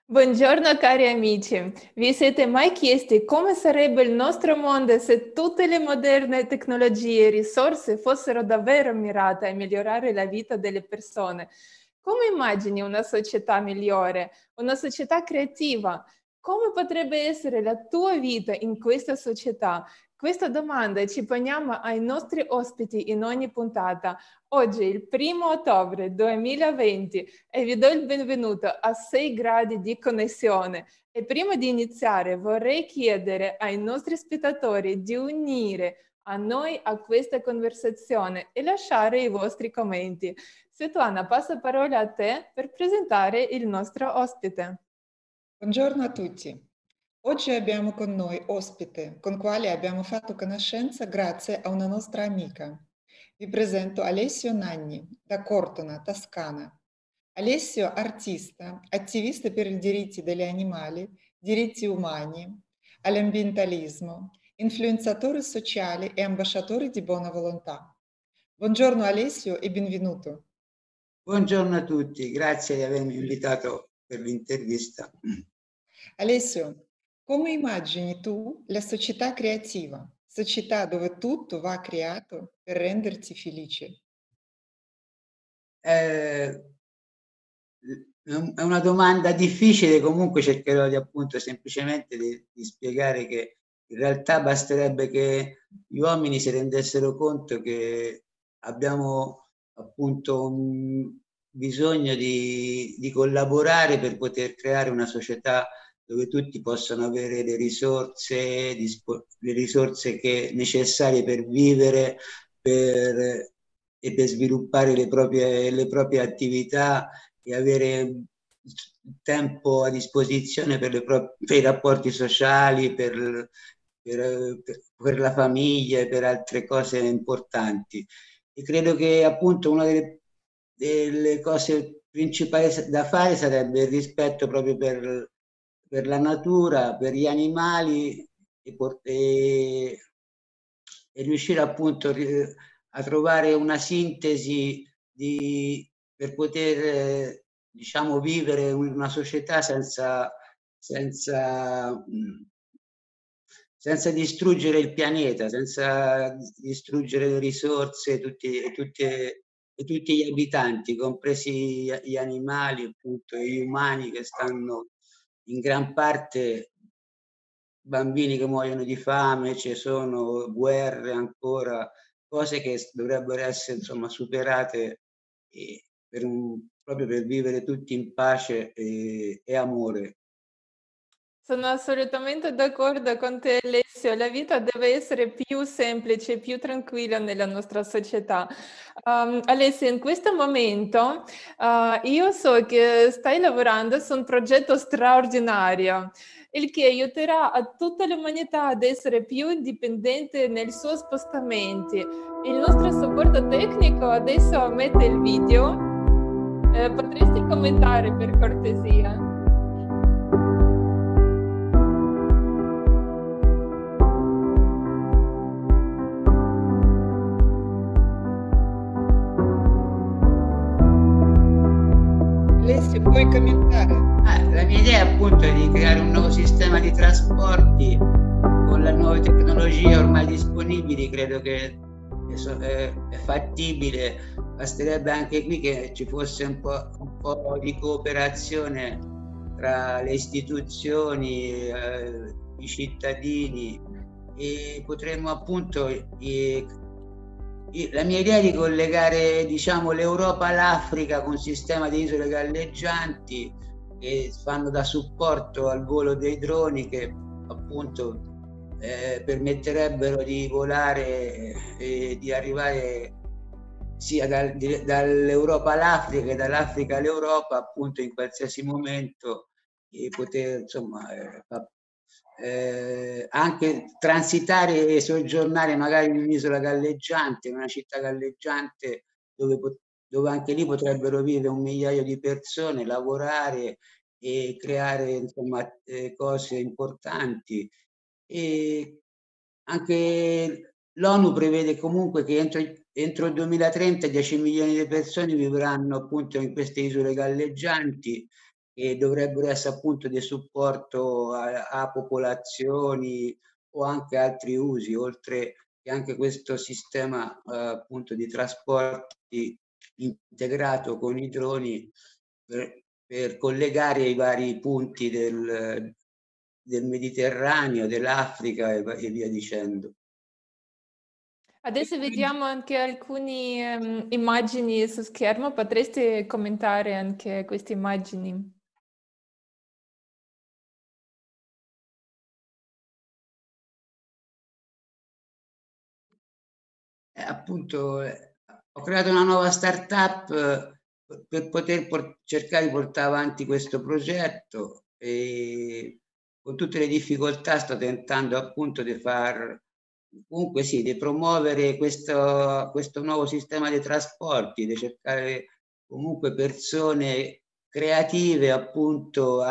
Buongiorno cari amici, vi siete mai chiesti come sarebbe il nostro mondo se tutte le moderne tecnologie e risorse fossero davvero mirate a migliorare la vita delle persone? Come immagini una società migliore, una società creativa? Come potrebbe essere la tua vita in questa società? Questa domanda ci poniamo ai nostri ospiti in ogni puntata. Oggi, il 1° ottobre 2020, e vi do il benvenuto a 6 gradi di connessione. E prima di iniziare vorrei chiedere ai nostri spettatori di unire a noi a questa conversazione e lasciare i vostri commenti. Svetlana, passo la parola a te per presentare il nostro ospite. Buongiorno a tutti. Oggi abbiamo con noi ospite con quale abbiamo fatto conoscenza grazie a una nostra amica. Vi presento Alessio Nanni da Cortona, Toscana. Alessio artista, attivista per i diritti degli animali, diritti umani, all'ambientalismo, influenzatore sociale e ambasciatore di buona volontà. Buongiorno Alessio e benvenuto. Buongiorno a tutti, grazie di avermi invitato per l'intervista. Alessio, come immagini tu la società creativa, società dove tutto va creato per renderti felice? È una domanda difficile, comunque cercherò di appunto semplicemente di spiegare che in realtà basterebbe che gli uomini si rendessero conto che abbiamo appunto un bisogno di collaborare per poter creare una società dove tutti possono avere le risorse necessarie per vivere e per sviluppare le proprie attività e avere tempo a disposizione per i rapporti sociali, per la famiglia e per altre cose importanti. E credo che appunto una delle cose principali da fare sarebbe il rispetto proprio per la natura, per gli animali e riuscire appunto a trovare una sintesi per poter diciamo vivere una società senza distruggere il pianeta, senza distruggere le risorse e tutti gli abitanti, compresi gli animali appunto e gli umani che stanno in gran parte, bambini che muoiono di fame, ci sono guerre ancora, cose che dovrebbero essere insomma superate proprio per vivere tutti in pace e amore. Sono assolutamente d'accordo con te, Alessio. La vita deve essere più semplice, più tranquilla nella nostra società. Alessio, in questo momento io so che stai lavorando su un progetto straordinario, il che aiuterà a tutta l'umanità ad essere più indipendente nei suoi spostamenti. Il nostro supporto tecnico adesso mette il video. Potresti commentare per cortesia? Alessio, puoi commentare? La mia idea appunto è di creare un nuovo sistema di trasporti con le nuove tecnologie ormai disponibili. Credo che è fattibile, basterebbe anche qui che ci fosse un po' di cooperazione tra le istituzioni, i cittadini, e potremmo appunto la mia idea è di collegare diciamo l'Europa all'Africa con un sistema di isole galleggianti che fanno da supporto al volo dei droni, che appunto permetterebbero di volare e di arrivare sia dall'Europa all'Africa che dall'Africa all'Europa appunto in qualsiasi momento, e poter insomma anche transitare e soggiornare magari in un'isola galleggiante, in una città galleggiante dove anche lì potrebbero vivere 1 migliaio di persone, lavorare e creare insomma cose importanti. E anche l'ONU prevede comunque che entro il 2030 10 milioni di persone vivranno appunto in queste isole galleggianti, che dovrebbero essere appunto di supporto a popolazioni o anche altri usi, oltre che anche questo sistema appunto di trasporti integrato con i droni per collegare i vari punti del Mediterraneo, dell'Africa e via dicendo. Adesso vediamo anche alcune immagini su schermo, potreste commentare anche queste immagini? Appunto, ho creato una nuova startup per poter cercare di portare avanti questo progetto e con tutte le difficoltà sto tentando appunto di far, comunque sì, di promuovere questo nuovo sistema di trasporti, di cercare comunque persone creative, appunto,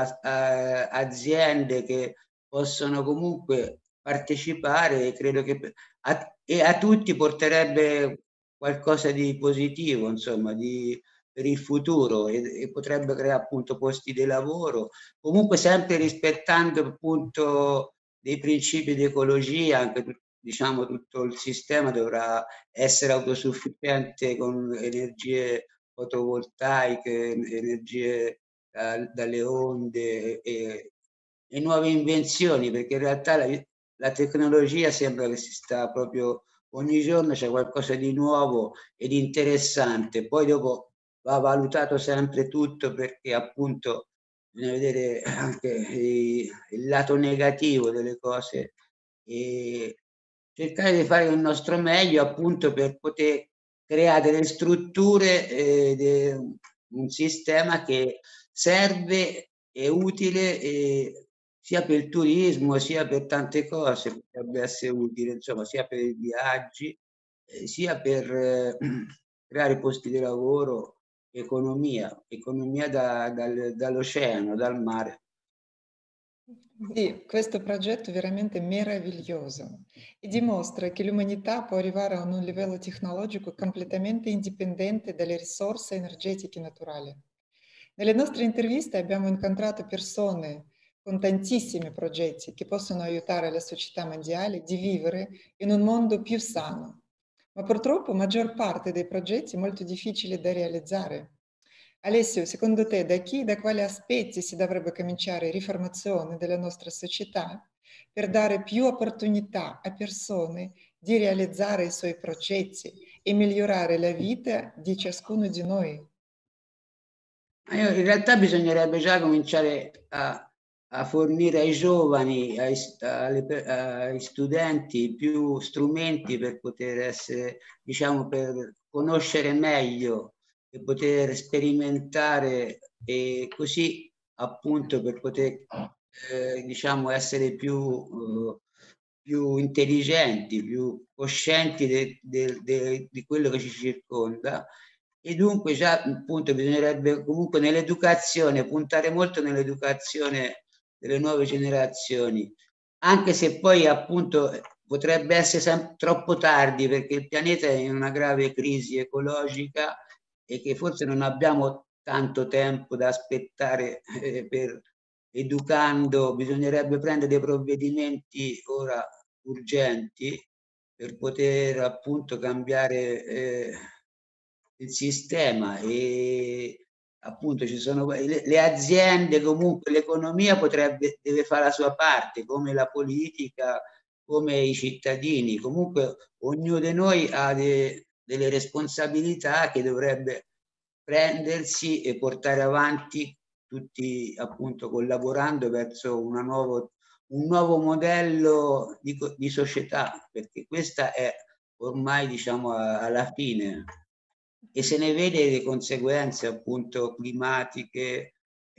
aziende che possono comunque partecipare e credo che e a tutti porterebbe qualcosa di positivo, insomma, per il futuro e potrebbe creare appunto posti di lavoro, comunque sempre rispettando appunto dei principi di ecologia, anche diciamo tutto il sistema dovrà essere autosufficiente con energie fotovoltaiche, energie dalle onde e nuove invenzioni, perché in realtà la tecnologia sembra che si sta proprio ogni giorno c'è qualcosa di nuovo ed interessante. Poi dopo va valutato sempre tutto perché appunto bisogna vedere anche il lato negativo delle cose e cercare di fare il nostro meglio appunto per poter creare delle strutture, un sistema che serve, è utile sia per il turismo sia per tante cose, potrebbe essere utile, insomma, sia per i viaggi, sia per creare posti di lavoro, economia dall'oceano, dal mare. Sì, questo progetto è veramente meraviglioso e dimostra che l'umanità può arrivare a un livello tecnologico completamente indipendente dalle risorse energetiche naturali. Nelle nostre interviste abbiamo incontrato persone con tantissimi progetti che possono aiutare la società mondiale di vivere in un mondo più sano, ma purtroppo maggior parte dei progetti è molto difficile da realizzare. Alessio, secondo te da chi e da quali aspetti si dovrebbe cominciare riformazione della nostra società per dare più opportunità a persone di realizzare i suoi progetti e migliorare la vita di ciascuno di noi? In realtà bisognerebbe già cominciare a fornire ai giovani, ai studenti più strumenti per poter essere, diciamo, per conoscere meglio e poter sperimentare e così appunto per poter, diciamo, essere più intelligenti, più coscienti di quello che ci circonda e dunque già appunto bisognerebbe comunque nell'educazione, puntare molto nell'educazione delle nuove generazioni, anche se poi appunto potrebbe essere troppo tardi perché il pianeta è in una grave crisi ecologica e che forse non abbiamo tanto tempo da aspettare per educando, bisognerebbe prendere dei provvedimenti ora urgenti per poter appunto cambiare il sistema e appunto ci sono le aziende, comunque l'economia deve fare la sua parte, come la politica, come i cittadini. Comunque ognuno di noi ha delle responsabilità che dovrebbe prendersi e portare avanti tutti appunto collaborando verso un nuovo modello di società, perché questa è ormai diciamo alla fine e se ne vede le conseguenze appunto climatiche,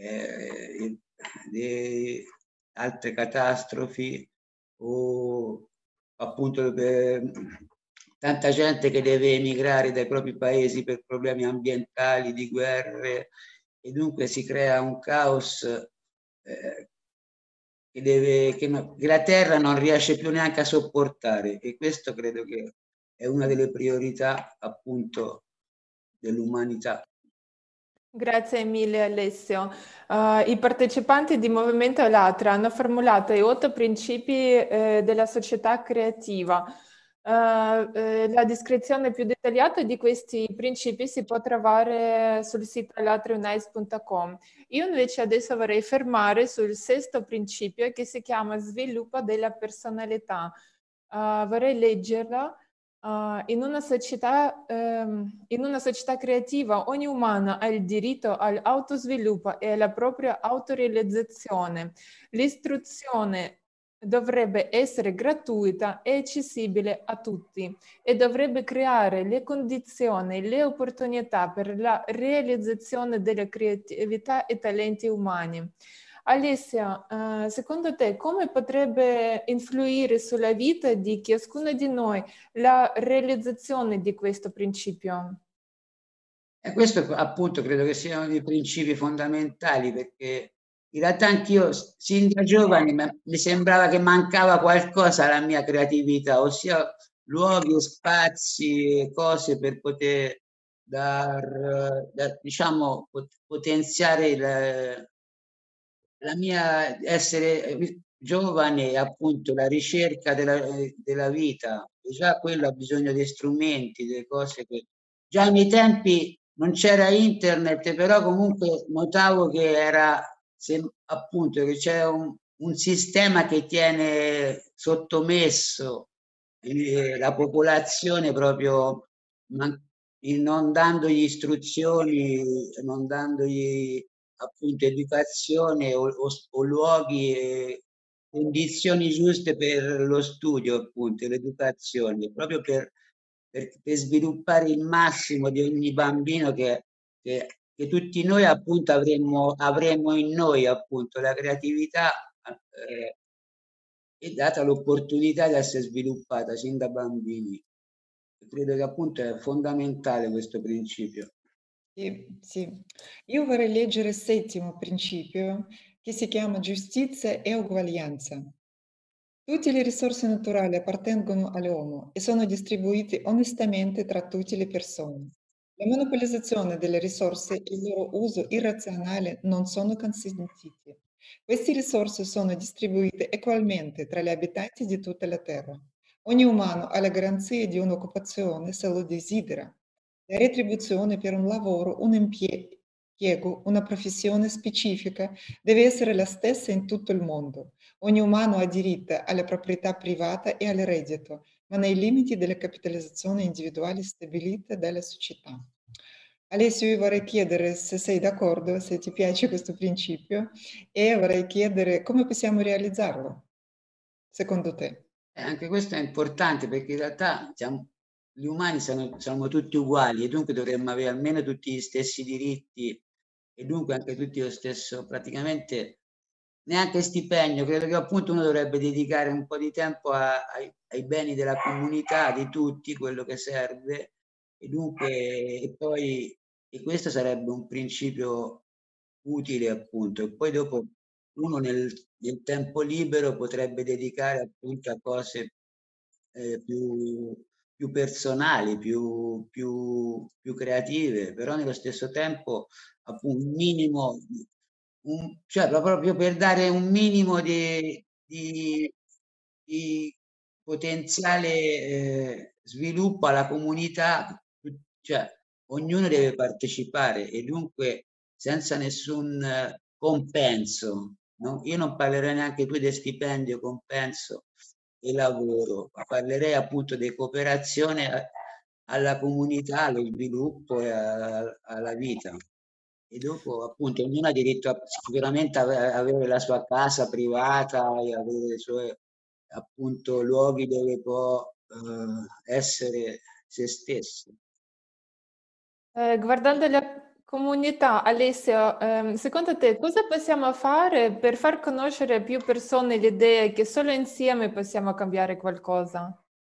di altre catastrofi o appunto tanta gente che deve emigrare dai propri paesi per problemi ambientali, di guerre e dunque si crea un caos che la Terra non riesce più neanche a sopportare e questo credo che è una delle priorità appunto dell'umanità. Grazie mille Alessio. I partecipanti di Movimento Allatra hanno formulato i 8 principi della società creativa. La descrizione più dettagliata di questi principi si può trovare sul sito alatraunice.com. Io invece adesso vorrei fermare sul 6° principio che si chiama sviluppo della personalità. Vorrei leggerla. In una società creativa ogni umano ha il diritto all'autosviluppo e alla propria autorealizzazione. L'istruzione dovrebbe essere gratuita e accessibile a tutti e dovrebbe creare le condizioni, le opportunità per la realizzazione della creatività e talenti umani. Alessia, secondo te come potrebbe influire sulla vita di ciascuno di noi la realizzazione di questo principio? E questo appunto credo che siano dei principi fondamentali, perché in realtà anch'io sin da giovane mi sembrava che mancava qualcosa alla mia creatività, ossia luoghi e spazi e cose per poter diciamo, potenziare la mia essere giovane, appunto, la ricerca della vita. E già quello ha bisogno di strumenti, delle cose che già ai miei tempi non c'era internet, però comunque notavo che era appunto che c'è un sistema che tiene sottomesso la popolazione proprio non dandogli istruzioni, non dandogli appunto educazione o luoghi e condizioni giuste per lo studio, appunto, e l'educazione, proprio per sviluppare il massimo di ogni bambino che tutti noi appunto avremmo in noi, appunto, la creatività è data l'opportunità di essere sviluppata sin da bambini. Credo che appunto è fondamentale questo principio. Sì, sì. Io vorrei leggere il 7° principio che si chiama giustizia e uguaglianza. Tutte le risorse naturali appartengono all'uomo e sono distribuite onestamente tra tutte le persone. La monopolizzazione delle risorse e il loro uso irrazionale non sono consentiti. Queste risorse sono distribuite equalmente tra gli abitanti di tutta la terra. Ogni umano ha la garanzia di un'occupazione se lo desidera. La retribuzione per un lavoro, un impiego, una professione specifica deve essere la stessa in tutto il mondo. Ogni umano ha diritto alla proprietà privata e al reddito, ma nei limiti della capitalizzazione individuale stabilita dalla società. Alessio, io vorrei chiedere se sei d'accordo, se ti piace questo principio, e vorrei chiedere come possiamo realizzarlo, secondo te. Anche questo è importante perché in realtà gli umani siamo tutti uguali e dunque dovremmo avere almeno tutti gli stessi diritti e dunque anche tutti lo stesso, praticamente neanche stipendio. Credo che appunto uno dovrebbe dedicare un po' di tempo ai beni della comunità, di tutti, quello che serve e dunque e questo sarebbe un principio utile appunto. E poi dopo uno nel tempo libero potrebbe dedicare appunto a cose più personali, più creative, però nello stesso tempo appunto un minimo, cioè proprio per dare un minimo di potenziale sviluppo alla comunità, cioè ognuno deve partecipare e dunque senza nessun compenso. No? Io non parlerei neanche più di stipendio, compenso e lavoro, ma parlerei appunto di cooperazione alla comunità, allo sviluppo e alla vita. E dopo appunto ognuno ha diritto sicuramente a avere la sua casa privata e avere i suoi appunto luoghi dove può essere se stesso. Guardando la comunità, Alessio, secondo te cosa possiamo fare per far conoscere a più persone l'idea che solo insieme possiamo cambiare qualcosa?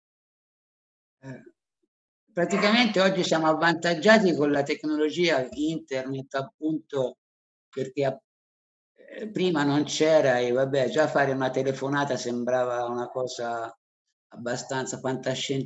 Praticamente oggi siamo avvantaggiati con la tecnologia internet, appunto perché prima non c'era e vabbè, già fare una telefonata sembrava una cosa abbastanza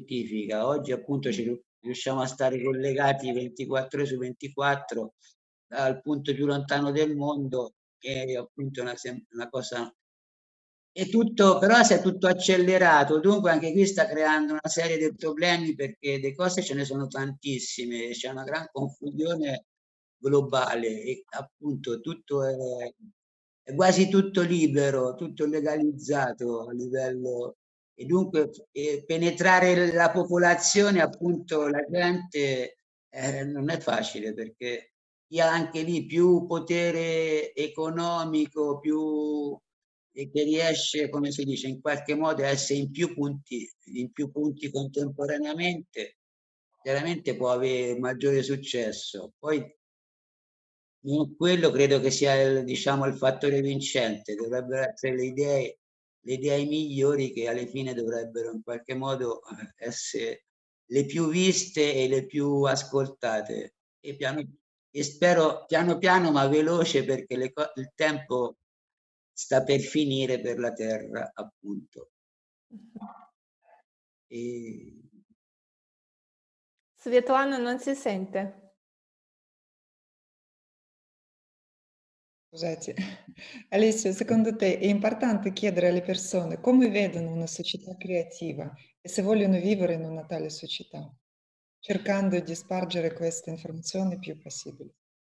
fantascientifica. Oggi appunto ci riusciamo a stare collegati 24 ore su 24 al punto più lontano del mondo, che è appunto una cosa... È tutto, però si è tutto accelerato, dunque anche qui sta creando una serie di problemi perché le cose ce ne sono tantissime, c'è una gran confusione globale e appunto è quasi tutto libero, tutto legalizzato a livello e dunque penetrare la popolazione, appunto la gente, non è facile perché chi ha anche lì più potere economico, più e che riesce, come si dice, in qualche modo a essere in più punti contemporaneamente, chiaramente può avere maggiore successo. Poi quello credo che sia diciamo, il fattore vincente, dovrebbero essere le idee migliori che alla fine dovrebbero in qualche modo essere le più viste e le più ascoltate. E spero piano piano ma veloce perché il tempo sta per finire per la Terra, appunto. E... Svetlana non si sente. Scusate. Alessio, secondo te è importante chiedere alle persone come vedono una società creativa e se vogliono vivere in una tale società, cercando di spargere queste informazioni più possibile?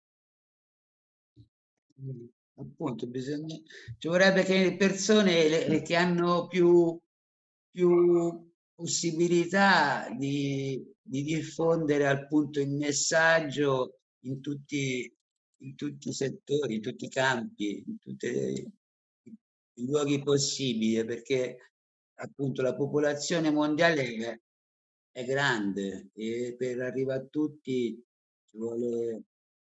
Appunto, ci vorrebbe che le persone che hanno più possibilità di diffondere appunto il messaggio in tutti i settori, in tutti i campi, in tutti i luoghi possibili, perché appunto la popolazione mondiale è grande e per arrivare a tutti ci vuole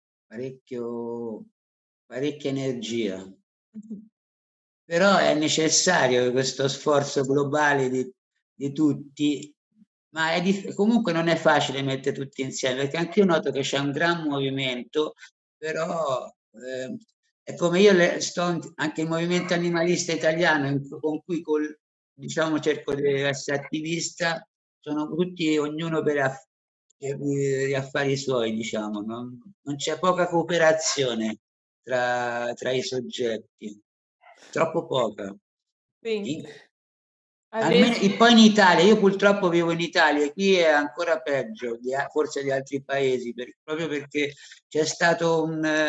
parecchia energia. Però è necessario questo sforzo globale di tutti, ma comunque non è facile mettere tutti insieme, perché anche io noto che c'è un gran movimento, però è come io sto anche il movimento animalista italiano, con cui diciamo, cerco di essere attivista, sono tutti, ognuno per gli affari suoi, diciamo, non c'è poca cooperazione tra i soggetti, troppo poca. Sì. Almeno, Adesso, e poi in Italia, io purtroppo vivo in Italia e qui è ancora peggio, forse di altri paesi, proprio perché c'è stato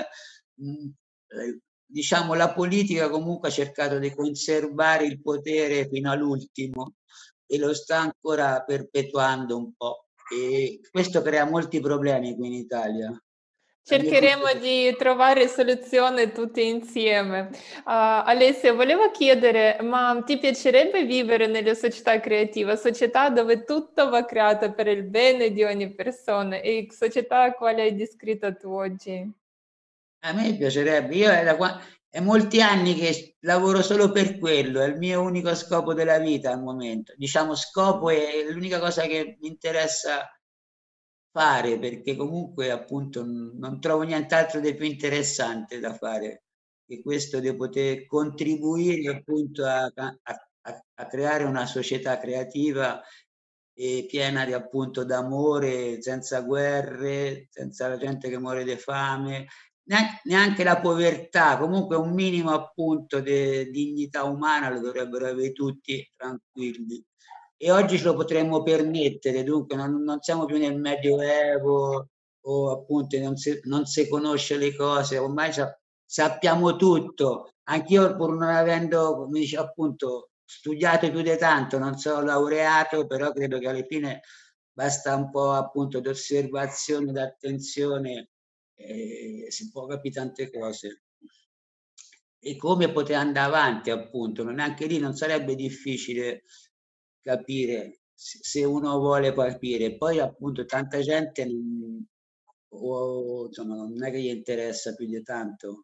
diciamo, la politica comunque ha cercato di conservare il potere fino all'ultimo e lo sta ancora perpetuando un po'. E questo crea molti problemi qui in Italia. cercheremo di trovare soluzione tutti insieme. Alessia, volevo chiedere, ma ti piacerebbe vivere nelle società creative, società dove tutto va creato per il bene di ogni persona e società quale hai descritto tu oggi? A me piacerebbe, io è molti anni che lavoro solo per quello, è il mio unico scopo della vita al momento. Diciamo, scopo è l'unica cosa che mi interessa fare, perché comunque appunto non trovo nient'altro di più interessante da fare che questo di poter contribuire appunto a creare una società creativa e piena di appunto d'amore, senza guerre, senza la gente che muore di fame, neanche la povertà, comunque un minimo appunto di dignità umana lo dovrebbero avere tutti tranquilli. E oggi ce lo potremmo permettere, dunque non siamo più nel Medioevo o appunto non si conosce le cose, ormai sappiamo tutto. Anch'io pur non avendo, come dice appunto, studiato più di tanto, non sono laureato, però credo che alla fine basta un po' appunto di osservazione, d'attenzione, si può capire tante cose. E come poter andare avanti appunto, anche lì non sarebbe difficile capire se uno vuole capire. Poi appunto tanta gente insomma, non è che gli interessa più di tanto.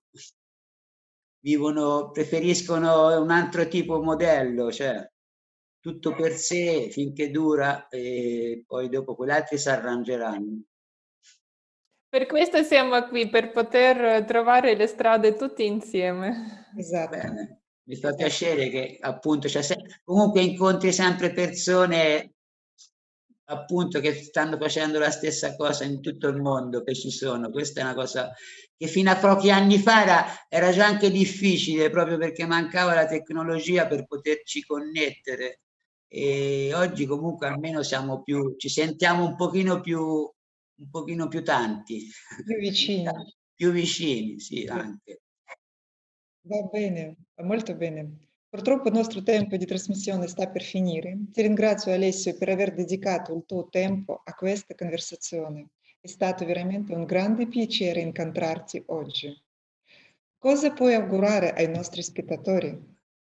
Preferiscono un altro tipo modello, cioè tutto per sé finché dura e poi dopo quegli altri si arrangeranno. Per questo siamo qui, per poter trovare le strade tutti insieme. Esatto. Bene, mi fa piacere che appunto comunque incontri sempre persone appunto che stanno facendo la stessa cosa in tutto il mondo, che ci sono. Questa è una cosa che fino a pochi anni fa era già anche difficile, proprio perché mancava la tecnologia per poterci connettere. E oggi comunque almeno ci sentiamo un pochino più tanti. Più vicini. Più vicini, sì, anche. Va bene, va molto bene. Purtroppo il nostro tempo di trasmissione sta per finire. Ti ringrazio Alessio per aver dedicato il tuo tempo a questa conversazione. È stato veramente un grande piacere incontrarti oggi. Cosa puoi augurare ai nostri spettatori?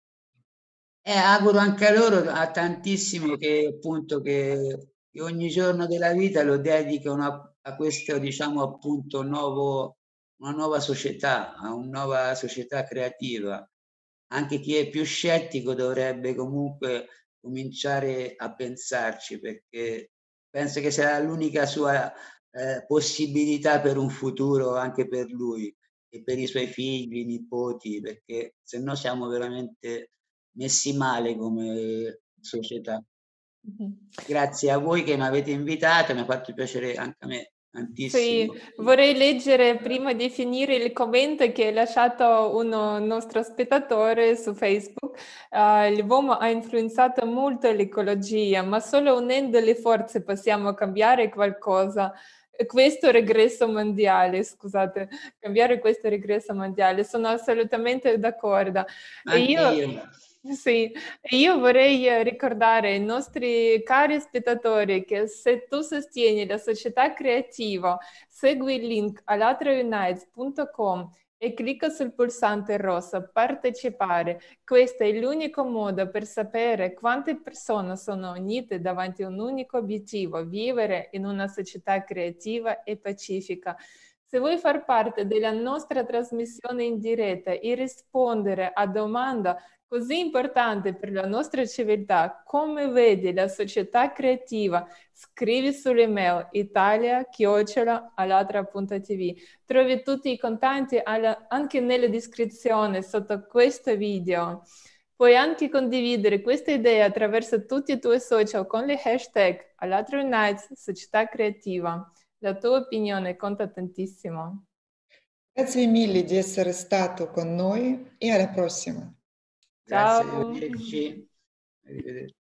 Auguro anche a loro a tantissimo che appunto che ogni giorno della vita lo dedicano a questo, diciamo appunto, una nuova società, a una nuova società creativa. Anche chi è più scettico dovrebbe comunque cominciare a pensarci, perché penso che sarà l'unica sua possibilità per un futuro anche per lui e per i suoi figli, nipoti, perché se no siamo veramente messi male come società. Grazie a voi che mi avete invitato, mi ha fatto piacere anche a me tantissimo. Sì, vorrei leggere prima di finire il commento che ha lasciato un nostro spettatore su Facebook. L'uomo ha influenzato molto l'ecologia, ma solo unendo le forze possiamo cambiare qualcosa. Questo regresso mondiale, scusate, cambiare questo regresso mondiale, sono assolutamente d'accordo. E Anche io, io. sì, e io vorrei ricordare ai nostri cari spettatori che se tu sostieni la società creativa, segui il link allatraunites.com e clicca sul pulsante rosso partecipare. Questo è l'unico modo per sapere quante persone sono unite davanti a un unico obiettivo, vivere in una società creativa e pacifica. Se vuoi far parte della nostra trasmissione in diretta e rispondere a domanda così importante per la nostra civiltà, come vedi la società creativa, scrivi sull'email italia@allatra.tv. Trovi tutti i contatti anche nella descrizione sotto questo video. Puoi anche condividere questa idea attraverso tutti i tuoi social con le hashtag Allatra Unites Società Creativa. La tua opinione conta tantissimo. Grazie mille di essere stato con noi e alla prossima. Grazie, Ciao! arrivederci. Arrivederci.